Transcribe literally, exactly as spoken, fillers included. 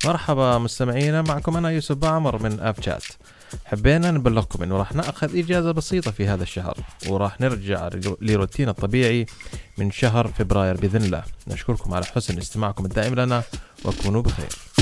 مرحبا مستمعينا، معكم أنا يوسف بعمر من أب شات. حبينا نبلغكم إنه راح نأخذ إجازة بسيطة في هذا الشهر، وراح نرجع لروتين الطبيعي من شهر فبراير بإذن الله. نشكركم على حسن استماعكم الدائم لنا، وكونوا بخير.